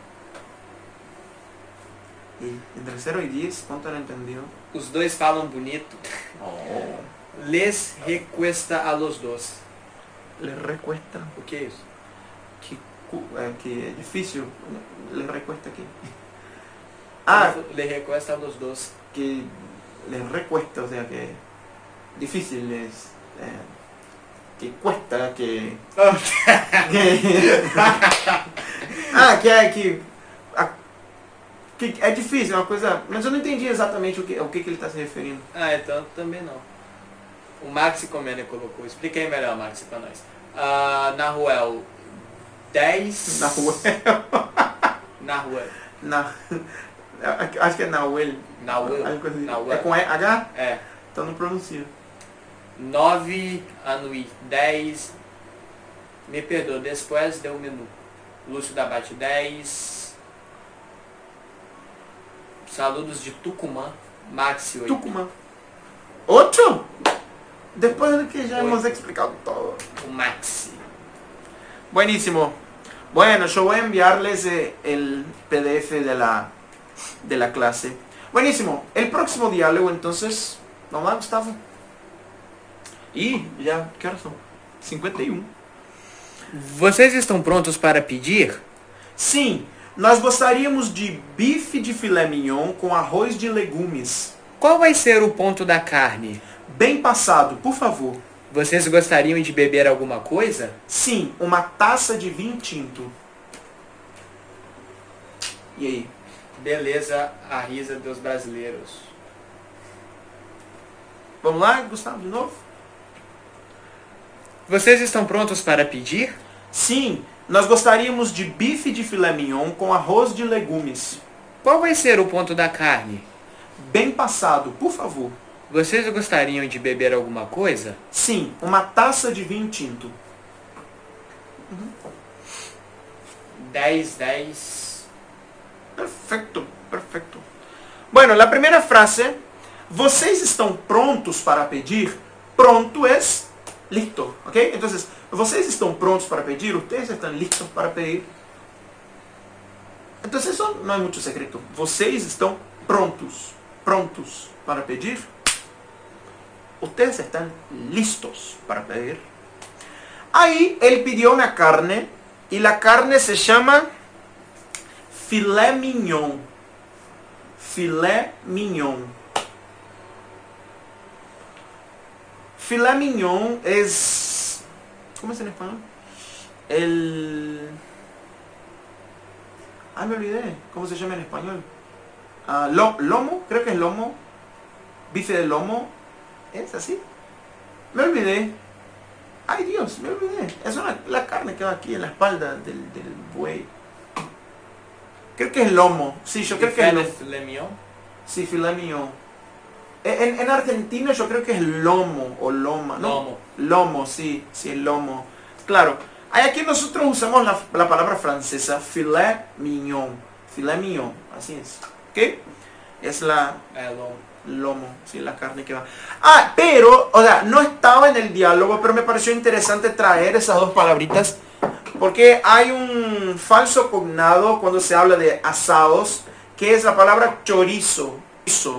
E entre cero e dez, quanto han entendido? Os dois falam bonito. Oh. Les recuesta a los dos. Les recuesta. O que é isso? Que, é, que é difícil. Les recuesta aqui. Ah, Les recuesta a los dos. que les recuesta, o sea que difícil, es, eh, que cuesta, que... que ah, que é que, a, que é difícil, é uma coisa... Mas eu não entendi exatamente o que, o que, que ele está se referindo. Ah, então também não. O Maxi Comene colocou. Explica aí melhor, Maxi, pra nós. Ah, na Ruel, dez... Na rua. Na rua. Na... Acho que é Nahuel. Nahuel. Algo assim. Nahuel. É com H? É. Então não pronuncia. nove, Anuí, dez. Me perdoa, depois deu o menu. Lúcio da Bate, dez. Saludos de Tucumã, Maxi, oito. Tucumã. oito? Depois de que já Oito. hemos explicado todo. O Maxi. Buenísimo. Bueno, yo voy a enviarles eh, el P D F de la, de la clase. Buenísimo. El próximo diálogo, entonces, vamos lá, Gustavo. Y ya, ¿qué horas son? cinquenta e um. Vocês estão prontos para pedir? Sim, nós gostaríamos de bife de filé mignon com arroz de legumes. Qual vai ser o ponto da carne? Bem passado, por favor. Vocês gostariam de beber alguma coisa? Sim, uma taça de vinho tinto. E aí? Beleza, a risa dos brasileiros. Vamos lá, Gustavo, de novo? Vocês estão prontos para pedir? Sim, nós gostaríamos de bife de filé mignon com arroz de legumes. Qual vai ser o ponto da carne? Bem passado, por favor. Vocês gostariam de beber alguma coisa? Sim, uma taça de vinho tinto. dez, dez. Perfeito, perfeito. Bueno, a primeira frase. Vocês estão prontos para pedir? pronto es listo, ¿ok? Entonces, vocês estão prontos para pedir, ustedes están listos para pedir. Entonces eso no hay mucho secreto. Vocês estão prontos, prontos para pedir. Ustedes están listos para pedir. Ahí él pidió una carne y la carne se llama filé mignon. Filé mignon. Filé mignon es... ¿Cómo es en español? El... Ah, me olvidé. ¿Cómo se llama en español? Uh, lo, lomo, creo que es lomo. Bife de lomo. ¿Es así? Me olvidé. Ay Dios, me olvidé. Es una, la carne que va aquí en la espalda del, del buey. Creo que es lomo. Sí, yo creo que es lomo. Filé mignon. Sí, filé mignon. En, en argentino yo creo que es lomo o loma, ¿no? Lomo. Lomo, sí, sí, lomo. Claro. Aquí nosotros usamos la, la palabra francesa filé mignon. Filé mignon, así es. ¿Qué? Es la... É, lomo. Lomo, sí, la carne que va. Ah, pero, o sea, no estaba en el diálogo, pero me pareció interesante traer esas dos palabritas, porque hay un falso cognado cuando se habla de asados, que es la palabra chorizo. Eso.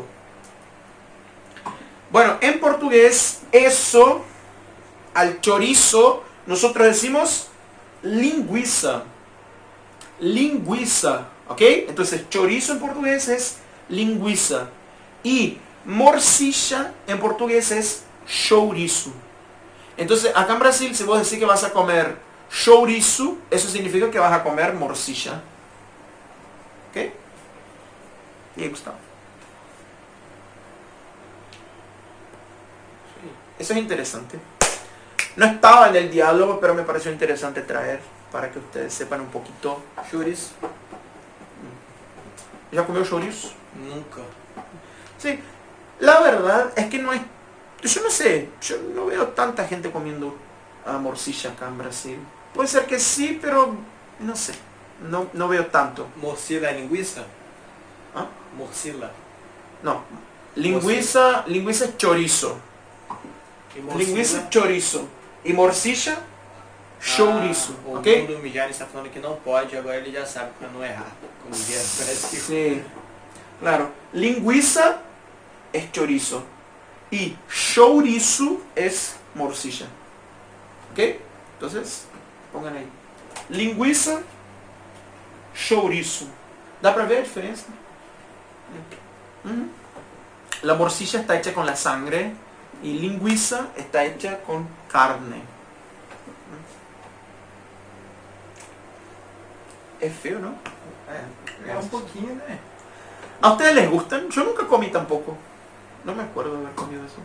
Bueno, en portugués, eso, al chorizo, nosotros decimos linguiça. Linguiça, ¿ok? Entonces, chorizo en portugués es linguiça. Y morcilla en portugués es chouriço. Entonces, acá en Brasil, si vos decís que vas a comer chouriço, eso significa que vas a comer morcilla. ¿Ok? Y ahí, Gustavo. Eso es interesante. No estaba en el diálogo, pero me pareció interesante traer para que ustedes sepan un poquito. Chouriço. ¿Ya comió chouriço? Nunca. Sí, la verdad es que no es... Yo no sé, yo no veo tanta gente comiendo uh, morcilla acá en Brasil. Puede ser que sí, pero no sé. No, no veo tanto. Morcilla é linguiça? ¿Ah? Morcilla. No. Linguiça, linguiça es chorizo. E morcilla? Linguiça es chorizo. Y morcilla, chouriço. Ah, o ¿Ok? Mundo Mijani está falando que não pode, agora ele já sabe para não errar. Como diria no Brasil. Sí. Claro. Linguiça es chorizo. Y chouriço es morcilla. ¿Ok? Entonces, pongan ahí. Linguiça, chouriço. ¿Da para ver la diferencia? Uh-huh. La morcilla está hecha con la sangre y linguiça está hecha con carne. Es feo, ¿no? É, é um pouquinho, né? ¿A ustedes les gustan? Yo nunca comí tampoco. No me acuerdo de haber comido eso.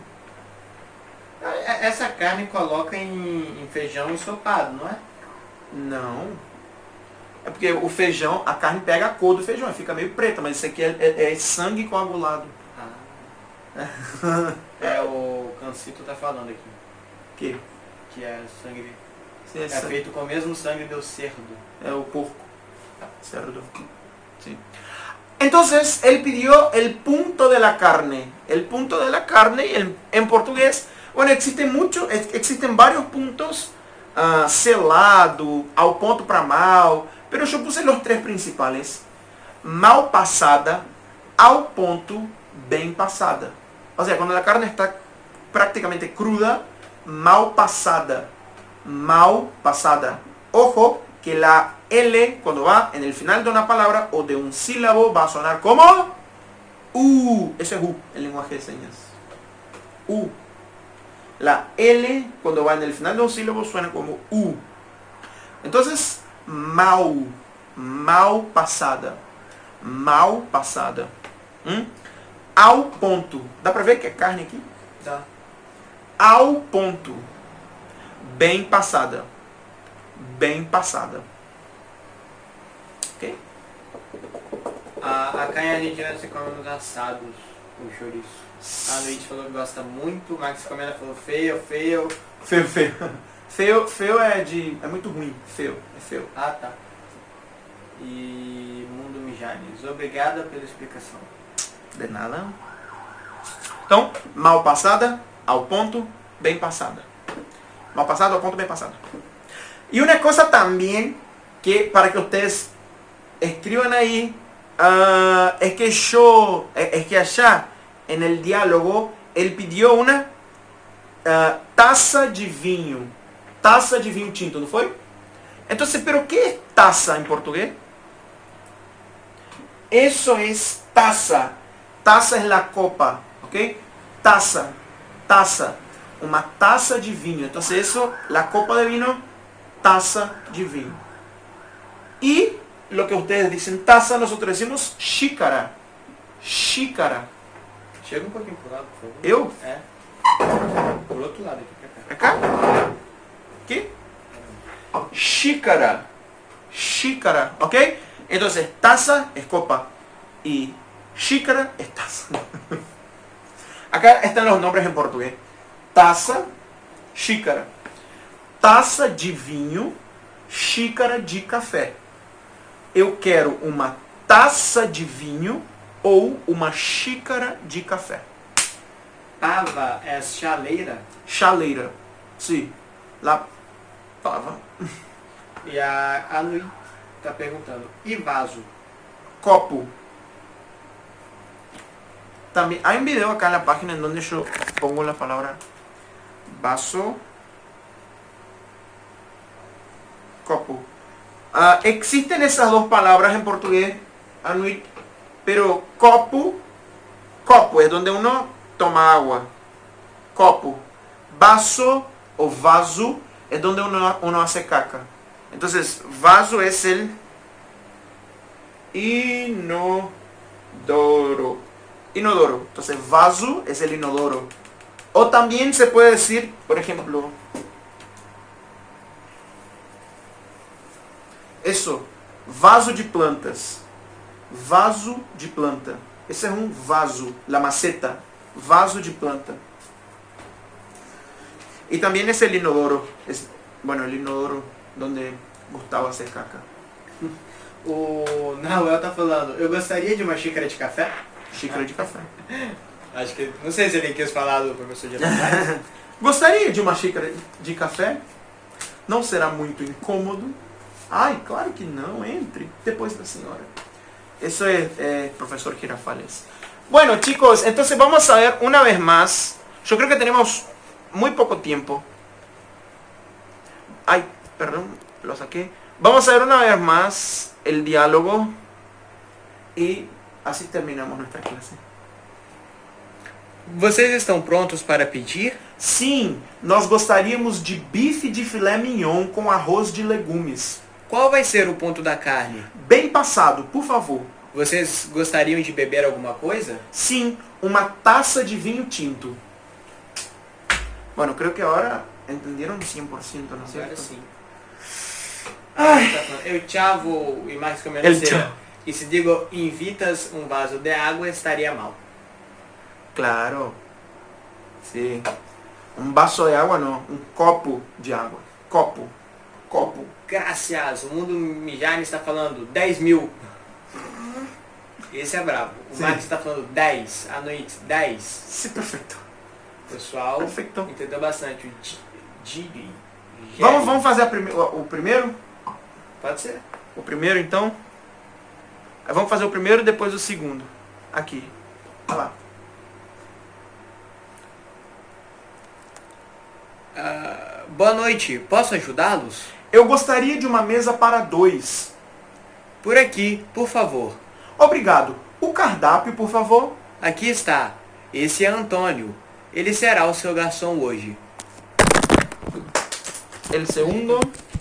Essa carne coloca em, em feijão ensopado, não é? Não. É porque o feijão, a carne pega a cor do feijão, fica meio preta, mas isso aqui é, é, é sangue coagulado. Ah. É, o Cancito tá falando aqui. Que? Que é sangue... Sim, é, é sangue. feito com o mesmo sangue do cerdo. É o porco. Cerdo. Sí. Entonces, él pidió el punto de la carne. El punto de la carne, y el, en portugués, bueno, existen muchos, existen varios puntos, uh, selado, ao ponto para mal, pero yo puse los tres principales. Mal passada, ao ponto, bem passada. O sea, cuando la carne está prácticamente cruda, mal passada. Mal passada. Ojo, que la L, cuando va en el final de una palabra o de un sílabo, va a sonar como U. Ese es U, el lenguaje de señas. U. La L, cuando va en el final de un sílabo, suena como U. Entonces, mal. Mal passada. Mal passada. ¿Mm? Ao ponto. ¿Dá para ver que é carne aqui? Dá. Ao ponto. Bem passada. Bem passada. Ok? A, a carne argentina se come nos assados, com chouriço. A Luiz falou que gosta muito, o Max Comenda falou feio, feio. Feio, feio. Feio, feio é de... é muito ruim. Feio, é feio. Ah, tá. E Mundo Mijanes, obrigada pela explicação. De nada. Então, mal passada, ao ponto, bem passada. Mal passado, ponto bem passado. Y una cosa también que para que ustedes escriban ahí, uh, es que yo, es que allá en el diálogo, él pidió una uh, taza de vinho. Taza de vinho tinto, ¿no fue? Entonces, ¿pero qué es taza en portugués? Eso es taza. Taza es la copa, ¿ok? Taza, taza. Una taza de vinho. Entonces, eso, la copa de vino, taza de vinho. Y lo que ustedes dicen taza, nosotros decimos xícara. Xícara. Chega um pouquinho pro lado, por favor. Eu? É. Por outro lado aqui, pra cá. Pra cá? Aqui? Xícara. Xícara, ¿ok? Entonces, taza es copa. Y xícara es taza. Acá están los nombres en portugués. Taça, xícara. Taça de vinho, xícara de café. Eu quero uma taça de vinho ou uma xícara de café. Pava é chaleira. Chaleira. Sim. La pava. E a Anui tá perguntando. E vaso? Copo. También hay un video acá en la página en donde yo pongo la palabra vaso, copo. Uh, existen esas dos palabras en portugués, Anuit, pero copo, copo es donde uno toma agua. Copo. Vaso o vaso es donde uno, uno hace caca. Entonces, vaso es el inodoro. Inodoro. Entonces, vaso es el inodoro. O también se puede decir, por ejemplo, eso, vaso de plantas. Vaso de planta. Ese es un vaso, la maceta. Vaso de planta. Y también es el inodoro. Es, bueno, el inodoro donde Gustavo hace caca. O Nahuel tá falando, eu gostaria de uma xícara de café. Xícara de café. Acho que, não sei se ele quis falar do professor de Girafales. Gostaria de uma xícara de café? Não será muito incômodo? Ai, claro que não, entre. Depois da senhora. Eso es, eh, profesor Girafales. Bueno, chicos, entonces vamos a ver una vez más. Yo creo que tenemos muy poco tiempo. Ay, perdón, lo saqué. Vamos a ver una vez más el diálogo. Y así terminamos nuestra clase. Vocês estão prontos para pedir? Sim, nós gostaríamos de bife de filé mignon com arroz de legumes. Qual vai ser o ponto da carne? Bem passado, por favor. Vocês gostariam de beber alguma coisa? Sim, uma taça de vinho tinto. Bueno, creo que ahora entendieron cien por ciento, ¿no es Agora cierto? sim. Ai. Eu chavo e mais como El eu chavo. E se digo invitas um vaso de água, estaria mal. Claro. Sí. Un vaso de agua, no. Un copo de agua. Copo. Copo. Graças, o mundo Mijane está falando dez mil. Esse é brabo. O Sim. Marcos está falando dez. À noite, dez. Sí, perfecto. O pessoal Perfeito. entendeu bastante. O Di- Diri. Vamos, vamos fazer a prime o, o primeiro? Pode ser. O primeiro, então? Aí vamos fazer o primeiro e depois o segundo. Aqui. Olha lá. Ah, boa noite, posso ajudá-los? Eu gostaria de uma mesa para dois. Por aqui, por favor. Obrigado. O cardápio, por favor. Aqui está. Esse é Antônio. Ele será o seu garçom hoje. El segundo.